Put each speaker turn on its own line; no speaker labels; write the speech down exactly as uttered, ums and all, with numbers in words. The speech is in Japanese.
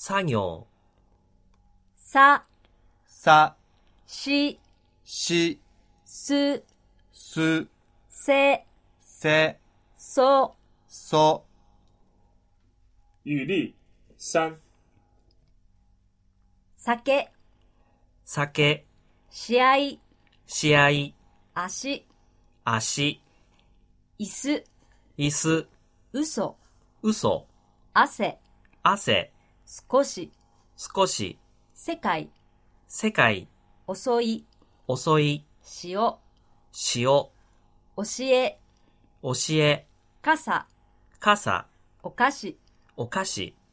作業。
さ、
さ、
し、
し、
す、
す、
せ、
せ、
そ。
そ。
语例三。
酒、
酒、
試合、
試合、
足、
足、
椅子、
椅子、
嘘、
嘘、
汗、
汗、
少し、
少し、
世界、
世界、
遅い、
遅い、
塩、
塩、
教え、
教え、
傘、
傘、
お菓子。
お菓子。